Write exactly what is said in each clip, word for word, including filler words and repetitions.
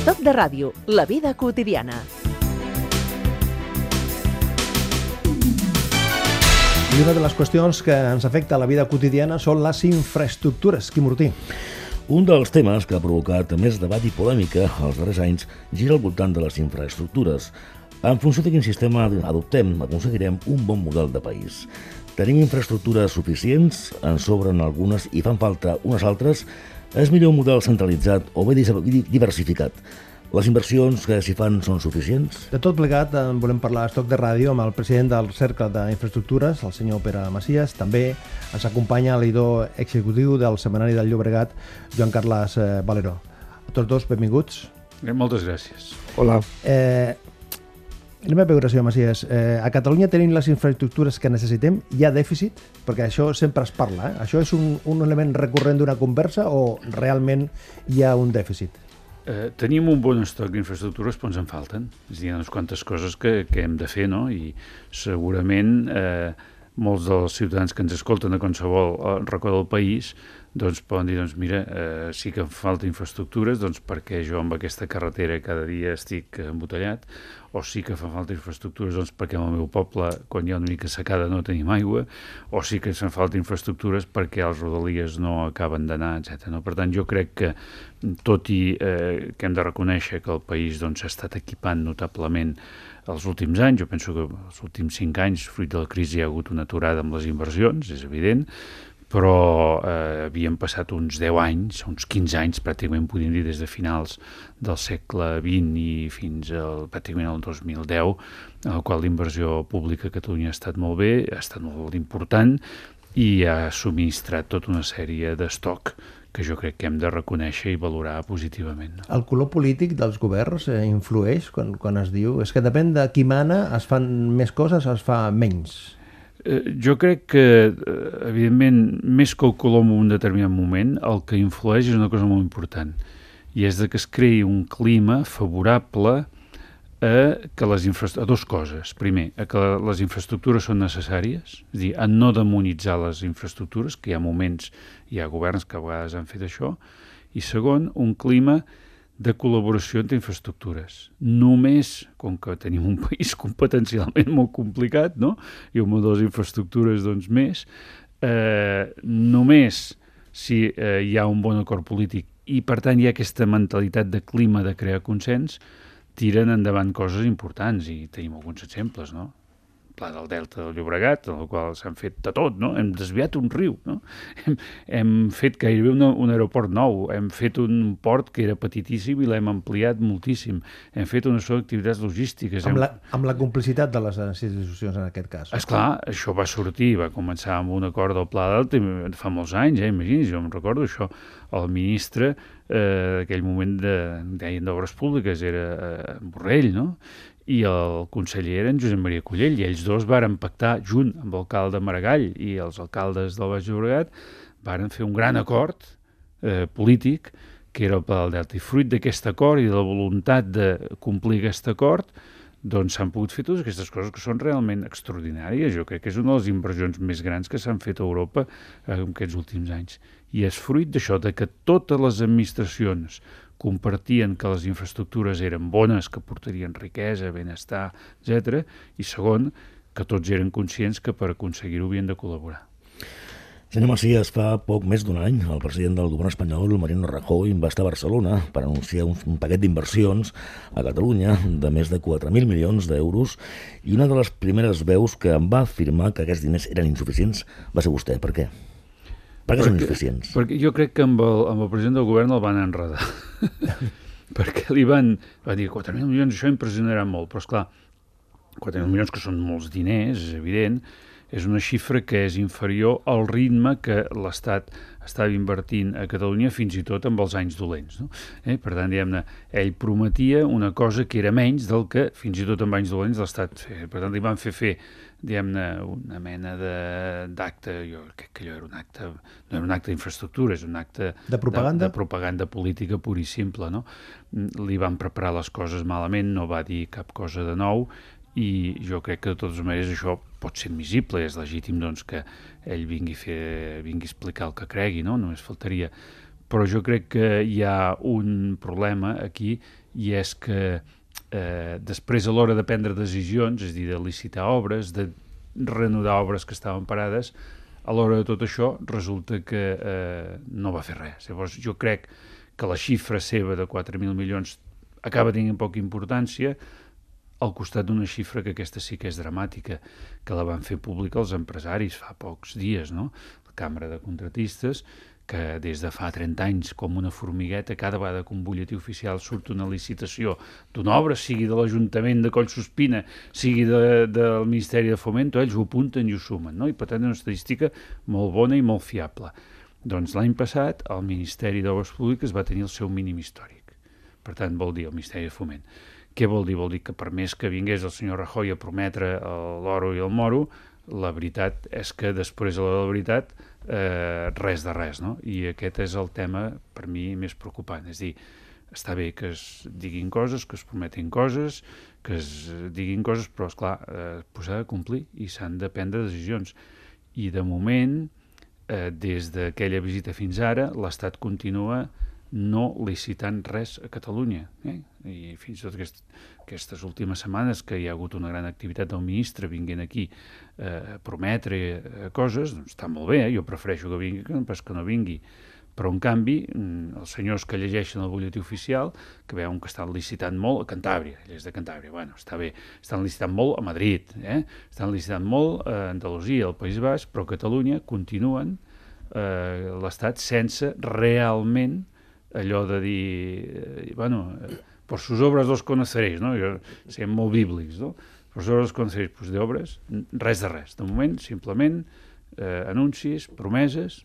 Estoc de ràdio, la vida quotidiana. I una de les qüestions que ens afecta a la vida quotidiana són les infraestructures. Quim Ortí. Un dels temes que ha provocat més debat i polèmica els darrers anys gira al voltant de les infraestructures. En funció de quin sistema adoptem, aconseguirem un bon model de país. Tenim infraestructures suficients, en sobren algunes i fan falta unes altres. És millor un model centralitzat o bé diversificat? Les inversions que s'hi fan són suficients? De tot plegat, en volem parlar a Estoc de Ràdio amb el president del Cercle d'Infraestructures, el senyor Pere Macias. També ens acompanya l'editor executiu del Setmanari del Llobregat, Joan Carles Valeró. A tots dos, benvinguts. Moltes gràcies. Hola. Eh, la meva pregunta, senyor Macias, eh, a Catalunya tenim les infraestructures que necessitem? Hi ha dèficit? Perquè això sempre es parla. Eh? Això és un, un element recurrent d'una conversa o realment hi ha un dèficit? Eh, tenim un bon estoc d'infraestructures, però ens en falten. És a dir, hi ha unes quantes coses que, que hem de fer, no? I segurament eh, molts dels ciutadans que ens escolten a qualsevol racó del país doncs poden dir, doncs mira, eh, sí que em falta infraestructures, doncs perquè jo amb aquesta carretera cada dia estic embotellat, o sí que fa falta infraestructures doncs perquè al meu poble, quan hi ha una mica secada, no tenim aigua, o sí que ens falta infraestructures perquè els rodalies no acaben d'anar, etcètera. No? Per tant, jo crec que, tot i eh, que hem de reconèixer que el país doncs, s'ha estat equipant notablement els últims anys, jo penso que els últims cinc anys, fruit de la crisi, hi ha hagut una aturada amb les inversions, és evident, però eh, havíem passat uns deu anys, uns quinze anys, pràcticament podríem dir des de finals del segle vint i fins al, pràcticament al dos mil deu, en el qual l'inversió pública a Catalunya ha estat molt bé, ha estat molt important i ha subministrat tota una sèrie d'estoc que jo crec que hem de reconèixer i valorar positivament. El color polític dels governs eh, influeix quan, quan es diu... És que depèn de qui mana, es fan més coses, es fa menys. Jo crec que, evidentment, més que el color en un determinat moment, el que influeix és una cosa molt important, i és que es creï un clima favorable a, que les infra... a dues coses. Primer, a que les infraestructures són necessàries, és a dir, a no demonitzar les infraestructures, que hi ha moments, hi ha governs que a vegades han fet això, i segon, un clima de col·laboració entre infraestructures. Només, com que tenim un país competencialment molt complicat, no? I un model de les infraestructures doncs més, eh, només si eh, hi ha un bon acord polític i per tant hi ha aquesta mentalitat de clima de crear consens, tiren endavant coses importants i tenim alguns exemples, no? Pla del Delta del Llobregat, en el qual s'han fet de tot, no? Hem desviat un riu, no? Hem, hem fet gairebé un, un aeroport nou, hem fet un port que era petitíssim i l'hem ampliat moltíssim, hem fet una sola activitats logístiques. Amb, hem... la, amb la complicitat de les institucions en aquest cas. Esclar, això va sortir, va començar amb un acord del Pla Delta fa molts anys, eh? Imagini's, jo em recordo això, el ministre eh, d'aquell moment de, deien d'Obres Públiques, era eh, Borrell, no? I el conseller era en Josep Maria Collell, i ells dos varen pactar, junt amb l'alcalde Maragall i els alcaldes del Baix Llobregat, varen fer un gran acord eh, polític, que era el Pla del Delta. I fruit d'aquest acord i de la voluntat de complir aquest acord, doncs s'han pogut fer totes aquestes coses que són realment extraordinàries. Jo crec que és una de les inversions més grans que s'han fet a Europa en aquests últims anys. I és fruit d'això, de que totes les administracions compartien que les infraestructures eren bones, que portarien riquesa, benestar, etcètera, i segon, que tots eren conscients que per aconseguir-ho havien de col·laborar. Senyor Macias, fa poc més d'un any, el president del govern espanyol, Mariano Rajoy, va estar a Barcelona per anunciar un, un paquet d'inversions a Catalunya de més de quatre mil milions d'euros, i una de les primeres veus que em va afirmar que aquests diners eren insuficients va ser vostè. Per què? Per què són insuficients? Perquè jo crec que amb el, amb el president del govern el van enredar. Perquè li van, van dir quatre mil milions, això impressionarà molt, però esclar, quatre mil milions que són molts diners, és evident, és una xifra que és inferior al ritme que l'Estat estava invertint a Catalunya fins i tot amb els anys dolents. No? Eh? Per tant, diguem-ne, ell prometia una cosa que era menys del que fins i tot amb anys dolents l'Estat feia. Per tant, li van fer fer, diguem-ne, una mena d'acte, jo crec que allò era un acte, no era un acte d'infraestructura, és un acte de propaganda, de, de propaganda política pura i simple. No? Li van preparar les coses malament, no va dir cap cosa de nou, i jo crec que de totes maneres això pot ser admissible, és legítim doncs, que ell vingui a, fer, vingui a explicar el que cregui, no? Només faltaria. Però jo crec que hi ha un problema aquí, i és que eh, després a l'hora de prendre decisions, és a dir, de licitar obres, de reanudar obres que estaven parades, a l'hora de tot això resulta que eh, no va fer res. Llavors jo crec que la xifra seva de quatre mil milions acaba tenint poca importància al costat d'una xifra que aquesta sí que és dramàtica, que la van fer pública els empresaris fa pocs dies, no? La Càmera de Contratistes, que des de fa trenta anys, com una formigueta, cada vegada que un butlletí oficial surt una licitació d'una obra, sigui de l'Ajuntament de Collsuspina, sigui de, del Ministeri de Fomento, ells ho apunten i ho sumen, no? I per tant és una estadística molt bona i molt fiable. Doncs l'any passat el Ministeri d'Obres Públiques va tenir el seu mínim històric. Per tant, vol dir el Ministeri de Foment. Què vol dir? Vol dir que per més que vingués el senyor Rajoy a prometre l'oro i el moro, la veritat és que després de la veritat eh, res de res, no? I aquest és el tema per mi més preocupant. És dir, està bé que es diguin coses, que es prometin coses, que es diguin coses, però esclar, eh, s'ha de complir i s'han de prendre decisions. I de moment, eh, des d'aquella visita fins ara, l'Estat continua no licitant res a Catalunya. Eh? I fins i tot aquest, aquestes últimes setmanes que hi ha hagut una gran activitat del ministre vinguent aquí eh, a prometre eh, coses, doncs està molt bé, eh? Jo prefereixo que vingui que pas que no vingui. Però, en canvi, els senyors que llegeixen el butlletí oficial, que veuen que estan licitant molt a Cantàbria, ell és de Cantàbria, bueno, està bé, estan licitant molt a Madrid, eh? Estan licitant molt a Andalusia, al País Basc, però a Catalunya continuen eh, l'Estat sense realment allò de dir, eh, bueno, eh, por sus obras los conoceréis, no? Jo, siguem molt bíblics, no? Por sus obras los conoceréis, pues d'obres, res de res. De moment, simplement, eh, anuncis, promeses,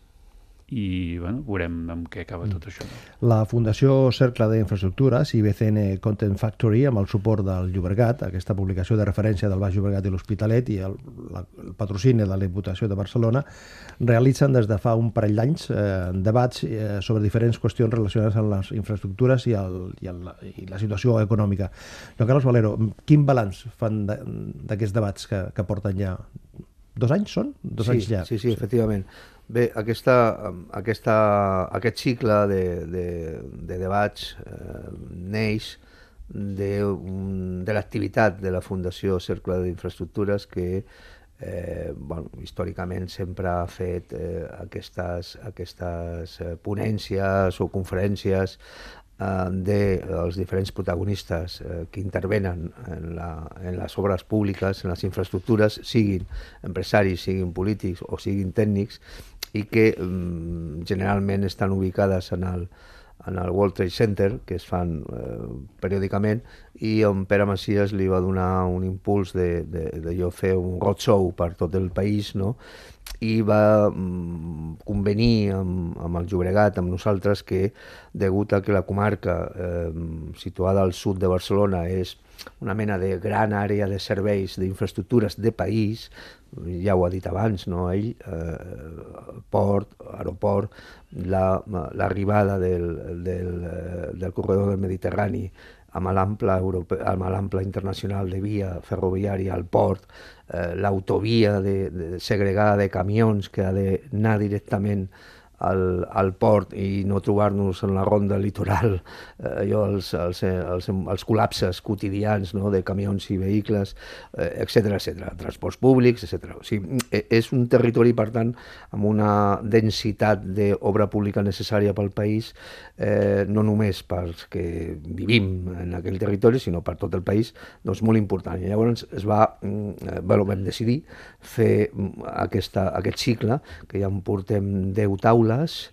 i bueno, veurem amb què acaba tot això. La Fundació Cercle d'Infraestructures i B C N Content Factory, amb el suport del Llobregat, aquesta publicació de referència del Baix Llobregat i l'Hospitalet i el, la, el patrocini de la Diputació de Barcelona, realitzen des de fa un parell d'anys eh, debats eh, sobre diferents qüestions relacionades amb les infraestructures i, el, i, el, i la situació econòmica. Joan Carlos Valero, quin balanç fan d'aquests debats que, que porten ja? Dos anys són? Dos sí, anys ja. Sí, sí, efectivament. Bé, aquesta, aquesta, aquest cicle de, de, de debats eh, neix de, de l'activitat de la Fundació Cercle d'Infraestructures que eh, bueno, històricament sempre ha fet eh, aquestes, aquestes ponències o conferències dels diferents protagonistes eh, que intervenen en, la, en les obres públiques, en les infraestructures, siguin empresaris, siguin polítics o siguin tècnics, i que mm, generalment estan ubicades en el, en el World Trade Center, que es fan eh, periòdicament, i on Pere Macias li va donar un impuls de, de, de jo fer un roadshow per tot el país, no? I va mm, convenir amb, amb el Llobregat, amb nosaltres, que degut a que la comarca eh, situada al sud de Barcelona és una mena de gran àrea de serveis, d'infraestructures de país, ja ho ha dit abans, no? Ell, eh, port, aeroport, l'arribada la, del, del, del corredor del Mediterrani amb l'ample amb l'ample internacional de via ferroviària al port, eh, l'autovia de, de segregada de camions que ha d'anar directament al, al port i no trobar-nos en la ronda litoral eh, allò, els, els, els, els col·lapses quotidians, no?, de camions i vehicles, eh, etcètera, etcètera, transports públics, etcètera. O sigui, és un territori, per tant, amb una densitat d'obra pública necessària pel país, eh, no només pels que vivim en aquell territori, sinó per tot el país, doncs molt important. I llavors es va, eh, bueno, vam decidir fer aquesta, aquest cicle, que ja en portem deu taules,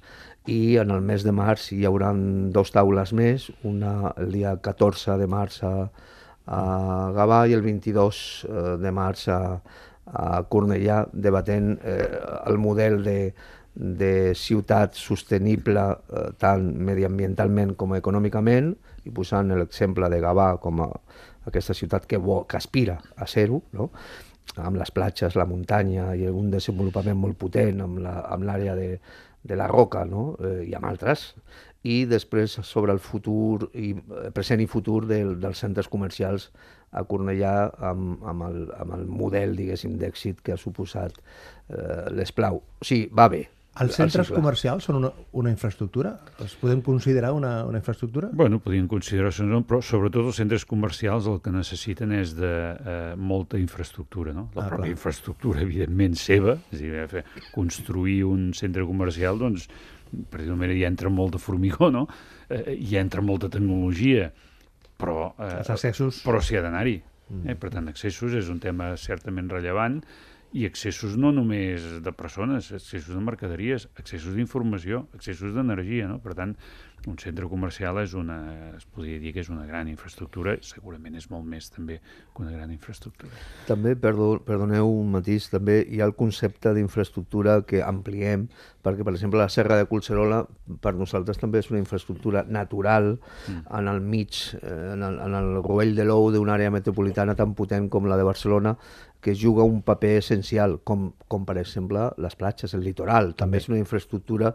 i en el mes de març hi haurà dos taules més, una el dia catorze de març a, a Gavà i el vint-i-dos de març a, a Cornellà, debatent eh, el model de, de ciutat sostenible eh, tant mediambientalment com econòmicament, i posant l'exemple de Gavà com a aquesta ciutat que, bo, que aspira a ser-ho, no?, amb les platges, la muntanya i un desenvolupament molt potent amb l'àrea de de la Roca, no?, eh, i amb altres, i després sobre el futur, i present i futur del, dels centres comercials a Cornellà amb, amb, el, amb el model, diguéssim, d'èxit que ha suposat eh, l'Esplau. O sigui, va bé, Els centres comercials són una, una infraestructura? Els podem considerar una, una infraestructura? Bueno, podríem considerar-se, però sobretot els centres comercials el que necessiten és de eh, molta infraestructura, no? La ah, pròpia clar. infraestructura, evidentment, seva, és a dir, fer, construir un centre comercial, doncs, per dir-ho manera, hi entra molt de formigó, no? Eh, hi entra molta tecnologia, però, eh, els accessos... però s'hi ha d'anar-hi. Eh? Per tant, accessos és un tema certament rellevant, i accessos no només de persones, accessos de mercaderies, accessos d'informació, accessos d'energia, no? Per tant, un centre comercial és una, es podria dir que és una gran infraestructura, segurament és molt més també que una gran infraestructura. També, perdó, perdoneu un matís, també hi ha el concepte d'infraestructura que ampliem, perquè, per exemple, la Serra de Collserola per nosaltres també és una infraestructura natural mm. en el mig, en el, en el rovell de l'ou d'una àrea metropolitana tan potent com la de Barcelona, que juga un paper essencial, com, com per exemple les platges, el litoral. També, també és una infraestructura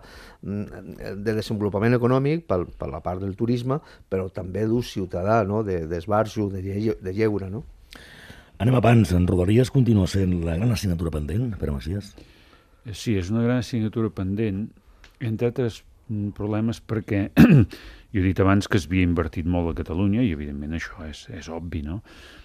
de desenvolupament econòmic per, per la part del turisme, però també d'ús ciutadà, no? d'esbarjo, de, de, de lleure. No? Anem a pans. En Rodalies continua sent la gran assignatura pendent, Pere Macias? Sí, és una gran assignatura pendent, entre altres problemes perquè jo he dit abans que s'havia invertit molt a Catalunya i evidentment això és, és obvi, no?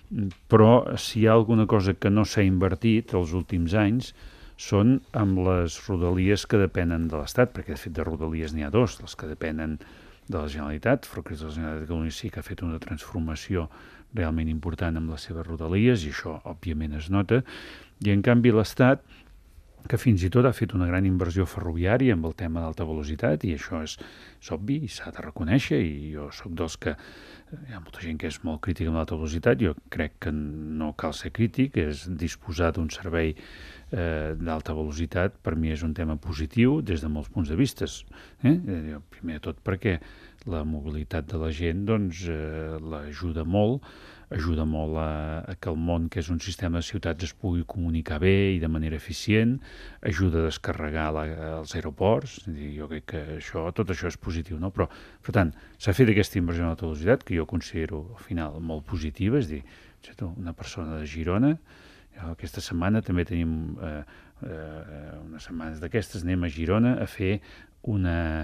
Però si hi ha alguna cosa que no s'ha invertit els últims anys són amb les rodalies que depenen de l'Estat, perquè de fet de rodalies n'hi ha dos, les que depenen de la Generalitat. Ferrocarrils de la Generalitat de Catalunya sí que ha fet una transformació realment important amb les seves rodalies i això òbviament es nota, i en canvi l'Estat, que fins i tot ha fet una gran inversió ferroviària amb el tema d'alta velocitat, i això és, és obvi i s'ha de reconèixer, i jo sóc dels que hi ha molta gent que és molt crítica amb l'alta velocitat, jo crec que no cal ser crític, és disposar d'un servei eh, d'alta velocitat per mi és un tema positiu des de molts punts de vista. Eh? Primer de tot perquè la mobilitat de la gent doncs, eh, l'ajuda molt, ajuda molt a, a que el món, que és un sistema de ciutats, es pugui comunicar bé i de manera eficient, ajuda a descarregar la, els aeroports, és a dir, jo crec que això, tot això és positiu, no? Però, per tant, s'ha fet aquesta inversió en alta velocitat, que jo considero al final molt positiva, és a dir, una persona de Girona, aquesta setmana també tenim, eh, eh, unes setmanes d'aquestes, anem a Girona a fer una,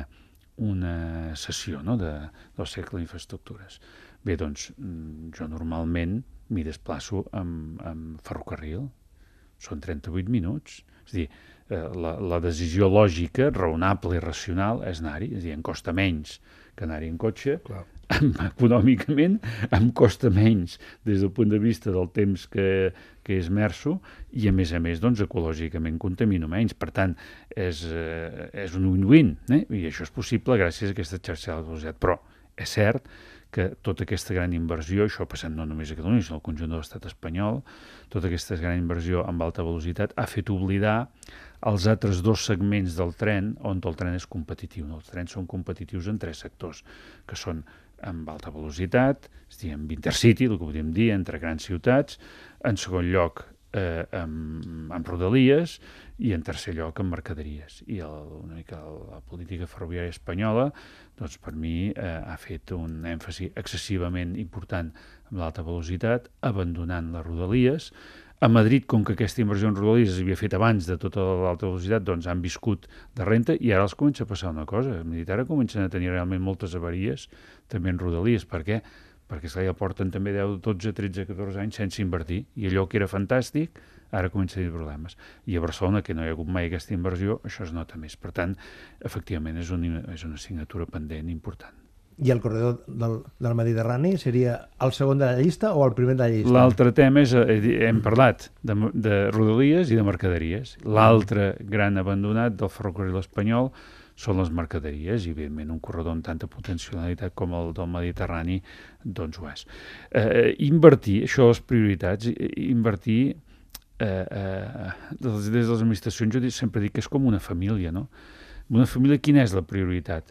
una sessió, no?, de, del cercle d'infraestructures. Bé, doncs, jo normalment m'hi desplaço amb, amb ferrocarril. Són trenta-vuit minuts. És a dir, la, la decisió lògica, raonable i racional és anar-hi. És a dir, em costa menys que anar-hi en cotxe. Clar. Econòmicament, em costa menys des del punt de vista del temps que, que esmerço i, a més a més, doncs, ecològicament contamino menys. Per tant, és, eh, és un win-win, eh? I això és possible gràcies a aquesta xarxa de velocitat. Però és cert que tota aquesta gran inversió, això ha passat no només a Catalunya, sinó al conjunt de l'estat espanyol, tota aquesta gran inversió amb alta velocitat ha fet oblidar els altres dos segments del tren on el tren és competitiu. Els trens són competitius en tres sectors, que són amb alta velocitat, és a dir, amb intercity, el que podríem dir, entre grans ciutats, en segon lloc eh, amb, amb rodalies i en tercer lloc amb mercaderies. I el, una mica la política ferroviària espanyola, doncs per mi eh, ha fet un èmfasi excessivament important amb l'alta velocitat, abandonant les rodalies. A Madrid, com que aquesta inversió en rodalies s'havia fet abans de tota l'alta velocitat, doncs han viscut de renta i ara els comença a passar una cosa. A Madrid ara comencen a tenir realment moltes avaries també en rodalies. Per què? Perquè ja porten també deu, dotze, tretze, catorze anys sense invertir i allò que era fantàstic ara comença a tenir problemes. I a Barcelona, que no hi ha hagut mai aquesta inversió, això es nota més. Per tant, efectivament, és una, és una assignatura pendent important. I el corredor del, del Mediterrani seria el segon de la llista o el primer de la llista? L'altre tema és, hem parlat de, de rodalies i de mercaderies. L'altre gran abandonat del ferrocarril espanyol són les mercaderies, i evidentment un corredor amb tanta potencialitat com el del Mediterrani, doncs ho és. Eh, invertir, això les prioritats, invertir eh, eh, des de les administracions, jo sempre dic que és com una família, no? Una família, quina és la prioritat?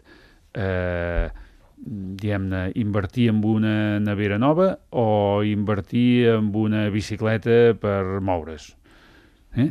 Eh, diguem-ne, invertir en una nevera nova o invertir en una bicicleta per moure's? Eh?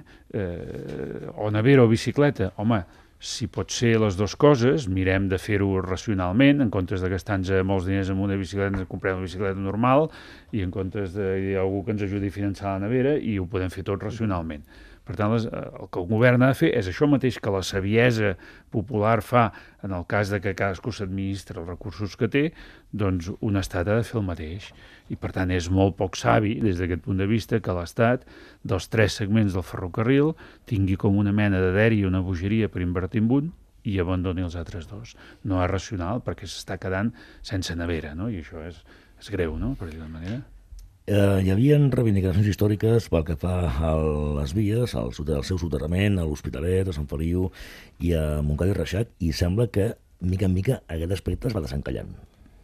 Eh, o nevera o bicicleta? Home, si pot ser les dues coses, mirem de fer-ho racionalment, en comptes de gastar-nos molts diners en una bicicleta, ens comprem una bicicleta normal, i en comptes de hi ha algú que ens ajudi a finançar la nevera, i ho podem fer tot racionalment. Per tant, les, el que el govern ha de fer és això mateix que la saviesa popular fa en el cas de que cadascú s'administra els recursos que té, doncs un estat ha de fer el mateix. I per tant és molt poc savi, des d'aquest punt de vista, que l'estat, dels tres segments del ferrocarril, tingui com una mena de dèria i una bogeria per invertir en un i abandoni els altres dos. No és racional perquè s'està quedant sense nevera, no? I això és, és greu, no?, per dir-ho d'una manera. Eh, hi havia reivindicacions històriques pel que fa a les vies, al, al seu soterrament, a l'Hospitalet, a Sant Feliu i a Montcada i Reixac, i sembla que, mica en mica, aquest aspecte es va desencallant.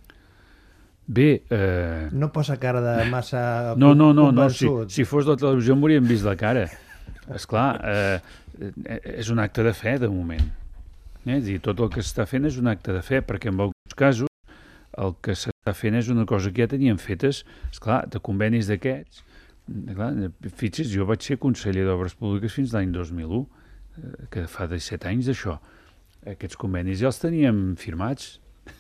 Bé... Eh... No posa cara de massa... No, no, no, no. Si, si fos de la televisió m'hauríem vist la cara. Esclar, eh, és un acte de fe, de moment. Eh? És dir, tot el que s'està fent és un acte de fe, perquè en alguns casos el que s'està fent és una cosa que ja teníem fetes, esclar, de convenis d'aquests. Fixi's, jo vaig ser conseller d'Obres Públiques fins l'any dos mil u, que fa disset anys d'això. Aquests convenis ja els teníem firmats.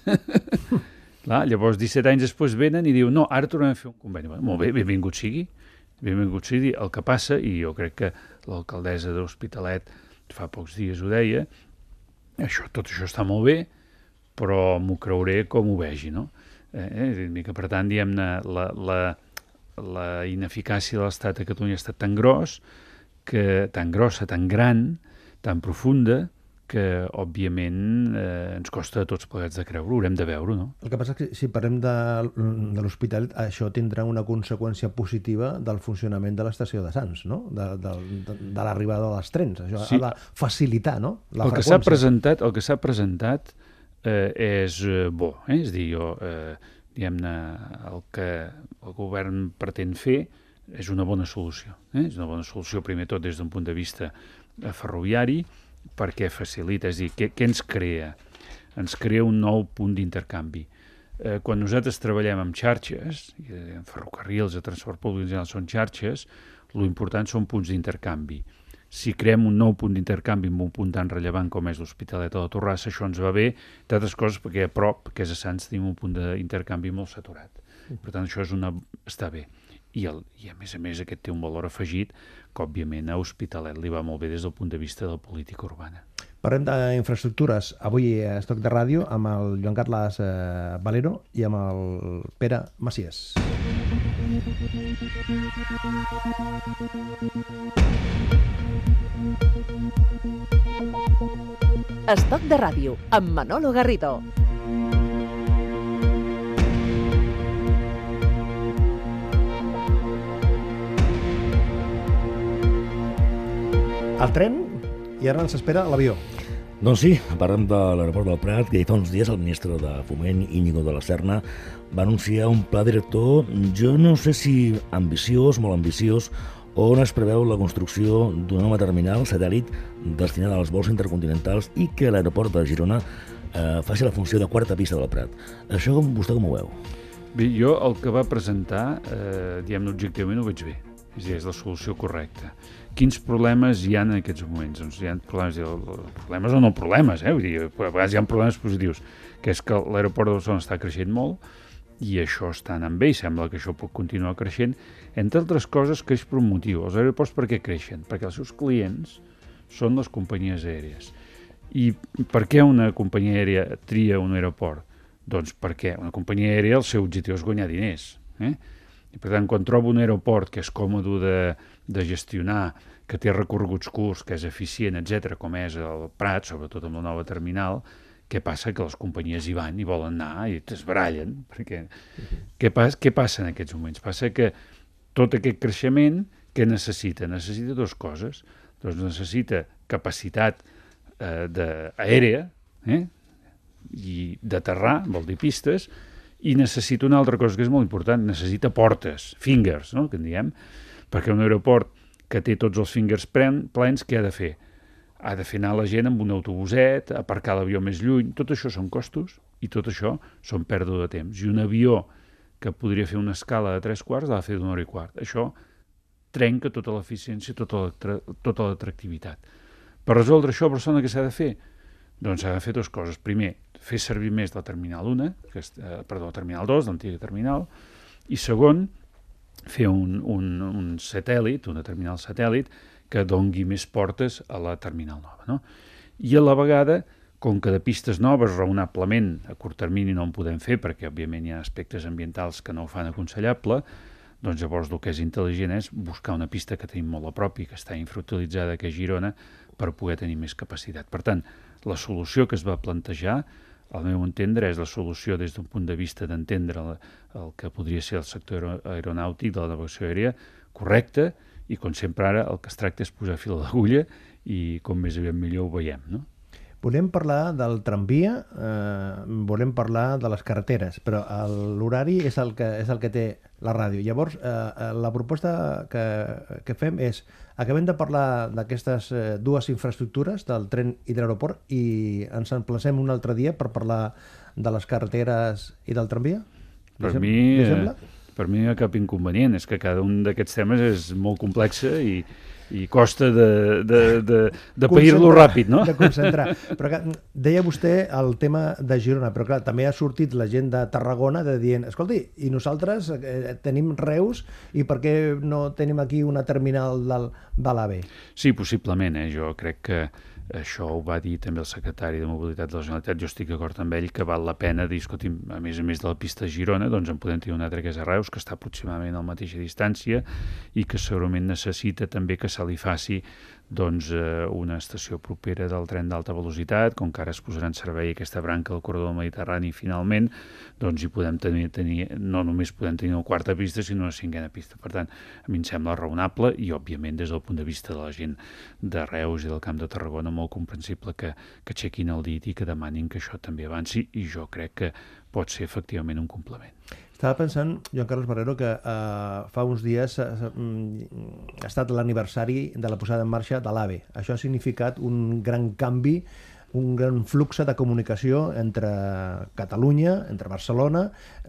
Clar, llavors, disset anys després venen i diuen no, ara tornem a fer un conveni. Bueno, molt bé, benvingut sigui. Benvingut sigui. El que passa, i jo crec que l'alcaldessa de l'Hospitalet fa pocs dies ho deia, això, tot això està molt bé, però m'ho creuré com ho vegi, no? Eh, que, per tant, diguem-ne, la, la, la ineficàcia de l'Estat a Catalunya ha estat tan gros, que, tan grossa, tan gran, tan profunda, que, òbviament, eh, ens costa a tots plegats de creure, ho haurem de veure, no? El que passa és que si parlem de, de l'hospital, això tindrà una conseqüència positiva del funcionament de l'estació de Sants, no? De, de, de, de l'arribada dels trens. Això sí. Ha de facilitar, no?, la el freqüència. Que s'ha presentat, el que s'ha presentat eh, és bo, eh? És dir, jo, eh, diguem-ne, el que el govern pretén fer és una bona solució. Eh? És una bona solució, primer tot, des d'un punt de vista ferroviari, perquè facilita, és a dir, què, què ens crea? Ens crea un nou punt d'intercanvi. Eh, quan nosaltres treballem amb xarxes, en ferrocarrils, de transport públic en general són xarxes, l'important són punts d'intercanvi. Si creem un nou punt d'intercanvi amb un punt tan rellevant com és l'Hospitalet o la Torrassa, això ens va bé, d'altres coses, perquè a prop, que és a Sants, tenim un punt d'intercanvi molt saturat. Per tant, això és una... està bé. I, el, I a més a més aquest té un valor afegit que òbviament a Hospitalet li va molt bé des del punt de vista de la política urbana. Parlem d'infraestructures avui a Estoc de Ràdio amb el Joan Carles eh, Valero i amb el Pere Macias. Estoc de Ràdio amb Manolo Garrido. El tren i ara ens espera l'avió. Doncs sí, parlem de l'aeroport del Prat, que fa uns dies el ministre de Foment, Íñigo de la Serna, va anunciar un pla director, jo no sé si ambiciós, molt ambiciós, on es preveu la construcció d'una nova terminal satèl·lit destinada als vols intercontinentals i que l'aeroport de Girona eh, faci la funció de quarta pista del Prat. Això vostè com ho veu? Bé, jo el que va presentar, eh, diguem-ne objectivament, ho veig bé. És a dir, és la solució correcta. Quins problemes hi ha en aquests moments? Doncs hi ha problemes, problemes o no problemes, eh? Vull dir, a vegades hi ha problemes positius, que és que l'aeroport de Barcelona està creixent molt i això està anant bé i sembla que això pot continuar creixent. Entre altres coses, creix per un motiu. Els aeroports per què creixen? Perquè els seus clients són les companyies aèries. I per què una companyia aèria tria un aeroport? Doncs perquè una companyia aèria el seu objectiu és guanyar diners, eh? I per tant, quan trobo un aeroport que és còmode de, de gestionar, que té recorreguts curts, que és eficient, etcètera, com és el Prat, sobretot amb la nova terminal, què passa? Que les companyies hi van i volen anar i es barallen. Perquè... Què, pas, què passa en aquests moments? Passa que tot aquest creixement, què necessita? Necessita dues coses. Doncs necessita capacitat eh, de, aèria, eh? I d'aterrar, vol dir pistes, i necessita una altra cosa que és molt important, necessita portes, fingers, no?, que en diem, perquè un aeroport que té tots els fingers plens, què ha de fer? Ha de fer anar la gent amb un autobuset, aparcar l'avió més lluny, tot això són costos i tot això són pèrdua de temps. I un avió que podria fer una escala de tres quarts l'ha de fer d'una hora i quart. Això trenca tota l'eficiència, tota l'atractivitat. Per resoldre això, a Barcelona, què s'ha de fer? Doncs s'ha de fer dues coses. Primer, fer servir més la Terminal un, que és, eh, perdó, la Terminal dos, l'antiga terminal, i segon, fer un, un, un satèl·lit, una terminal satèl·lit, que dongui més portes a la terminal nova, no? I a la vegada, com que de pistes noves raonablement a curt termini no en podem fer, perquè òbviament hi ha aspectes ambientals que no ho fan aconsellable, doncs llavors el que és intel·ligent és buscar una pista que tenim molt a prop i que està infrautilitzada, que és Girona, per poder tenir més capacitat. Per tant, la solució que es va plantejar, al meu entendre, és la solució des d'un punt de vista d'entendre el, el que podria ser el sector aeronàutic de la navegació aèria correcte, i com sempre ara el que es tracta és posar fil a l'agulla i com més aviat millor ho veiem, no? Volem parlar del tramvia, eh, volem parlar de les carreteres, però l'horari és, el que, és el que té la ràdio. Llavors, eh, la proposta que, que fem és, acabem de parlar d'aquestes eh, dues infraestructures, del tren i de l'aeroport, i ens emplacem un altre dia per parlar de les carreteres i del tramvia? Per mi, eh, per mi no hi ha cap inconvenient, és que cada un d'aquests temes és molt complex i i costa de, de, de, de pair-lo ràpid, no? De concentrar. Però que, deia vostè el tema de Girona, però clar, també ha sortit la gent de Tarragona de dient, escolti, i nosaltres eh, tenim Reus i per què no tenim aquí una terminal del, de l'AVE? Sí, possiblement, eh? Jo crec que això ho va dir també el secretari de Mobilitat de la Generalitat, jo estic d'acord amb ell que val la pena dir, escolti, a més a més de la pista de Girona, doncs en podem tenir una altra que és a Reus, que està aproximadament a la mateixa distància i que segurament necessita també que se li faci doncs, eh, una estació propera del tren d'alta velocitat, com que ara es posarà en servei aquesta branca del corredor mediterrani finalment, doncs hi podem tenir, tenir no només podem tenir una quarta pista, sinó una cinquena pista. Per tant, a mi em sembla raonable i, òbviament, des del punt de vista de la gent de Reus i del Camp de Tarragona, molt comprensible que, que aixequin el dit i que demanin que això també avanci, i jo crec que pot ser efectivament un complement. Estava pensant, Joan Carles Barrero, que eh, fa uns dies eh, ha estat l'aniversari de la posada en marxa de l'AVE. Això ha significat un gran canvi, un gran flux de comunicació entre Catalunya, entre Barcelona,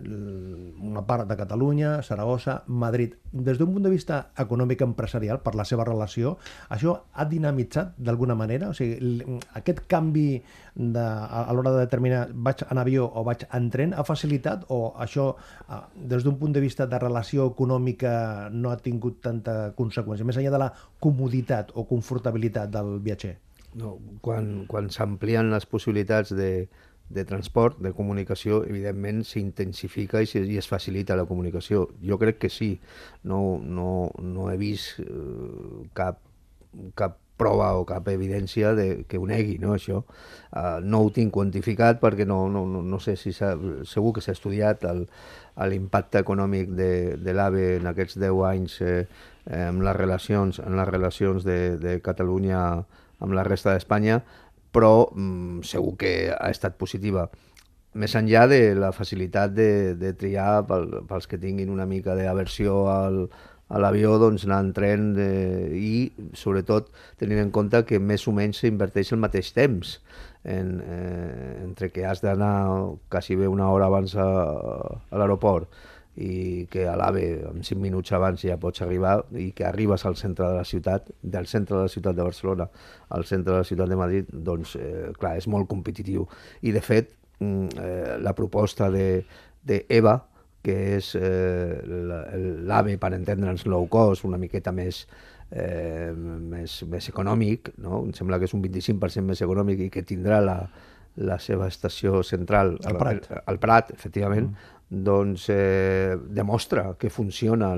una part de Catalunya, Saragossa, Madrid. Des d'un punt de vista econòmic empresarial, per la seva relació, això ha dinamitzat d'alguna manera? O sigui, aquest canvi de, a l'hora de determinar vaig en avió o vaig en tren ha facilitat, o això des d'un punt de vista de relació econòmica no ha tingut tanta conseqüència, més enllà de la comoditat o confortabilitat del viatger? No, quan, quan s'amplien les possibilitats de, de transport, de comunicació, evidentment s'intensifica i, i es facilita la comunicació. Jo crec que sí. No, no, no he vist eh, cap, cap prova o cap evidència de, que ho negui, no, això. Uh, no ho tinc quantificat perquè no, no, no, no sé si s'ha, segur que s'ha estudiat l'impacte econòmic de, de l'AVE en aquests deu anys eh, en les relacions, en les relacions de, de Catalunya amb la resta d'Espanya, però mm, segur que ha estat positiva. Més enllà de la facilitat de, de triar pel, pels que tinguin una mica d'aversió al, a l'avió, doncs anar en tren de, i, sobretot, tenint en compte que més o menys s'inverteix el mateix temps en, eh, entre que has d'anar quasi bé una hora abans a, a l'aeroport i que a l'AVE en cinc minuts abans ja pots arribar i que arribes al centre de la ciutat, del centre de la ciutat de Barcelona al centre de la ciutat de Madrid, doncs, eh, clar, és molt competitiu. I, de fet, eh, la proposta de, de EVA, que és eh, l'AVE, per entendre'ns, low cost, una miqueta més, eh, més, més econòmic, no? Em sembla que és un vint-i-cinc per cent més econòmic i que tindrà la, la seva estació central al Prat, al Prat, efectivament, mm. doncs eh, demostra que funciona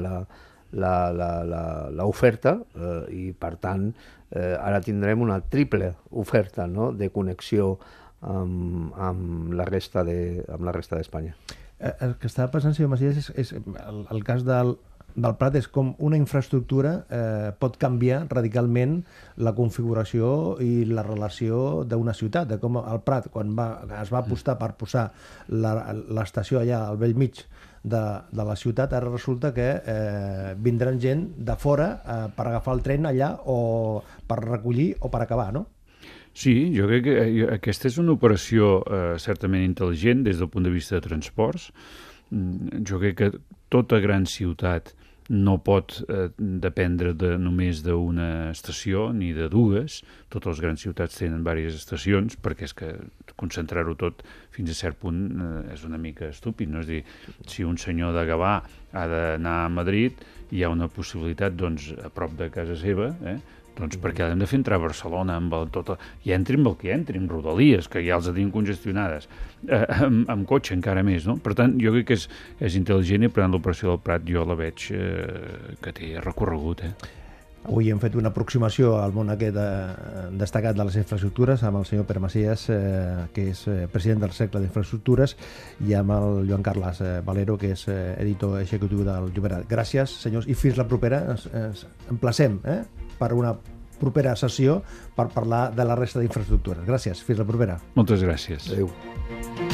l'oferta eh, i, per tant, eh, ara tindrem una triple oferta, no?, de connexió amb, amb la resta de, amb la resta d'Espanya. Eh, el que estava passant, senyor Macias, és, és el, el cas del, del Prat és com una infraestructura eh, pot canviar radicalment la configuració i la relació d'una ciutat, de com el Prat, quan va, es va apostar per posar l'estació allà al vell mig de, de la ciutat, ara resulta que eh, vindran gent de fora eh, per agafar el tren allà o per recollir o per acabar, no? Sí, jo crec que aquesta és una operació eh, certament intel·ligent des del punt de vista de transports. Jo crec que tota gran ciutat no pot eh, dependre de, només d'una estació ni de dues. Totes les grans ciutats tenen diverses estacions perquè és que concentrar-ho tot fins a cert punt eh, és una mica estúpid, no? És dir, si un senyor de Gavà ha d'anar a Madrid, hi ha una possibilitat, doncs, a prop de casa seva, eh, Doncs perquè l'hem de fer entrar a Barcelona amb el, tot el, i entri amb el que entri, amb Rodalies, que ja els tenim congestionades, eh, amb, amb cotxe encara més, no? Per tant, jo crec que és, és intel·ligent i per tant l'operació del Prat jo la veig eh, que té recorregut, eh? Avui hem fet una aproximació al món aquest de, destacat de les infraestructures amb el senyor Pere Macias, eh, que és eh, president del Cercle d'Infraestructures, i amb el Joan Carles eh, Valero, que és eh, editor executiu del Llobregat. Gràcies, senyors, i fins la propera. Ens, ens emplacem eh, per una propera sessió per parlar de la resta d'infraestructures. Gràcies, fins la propera. Moltes gràcies. Adéu.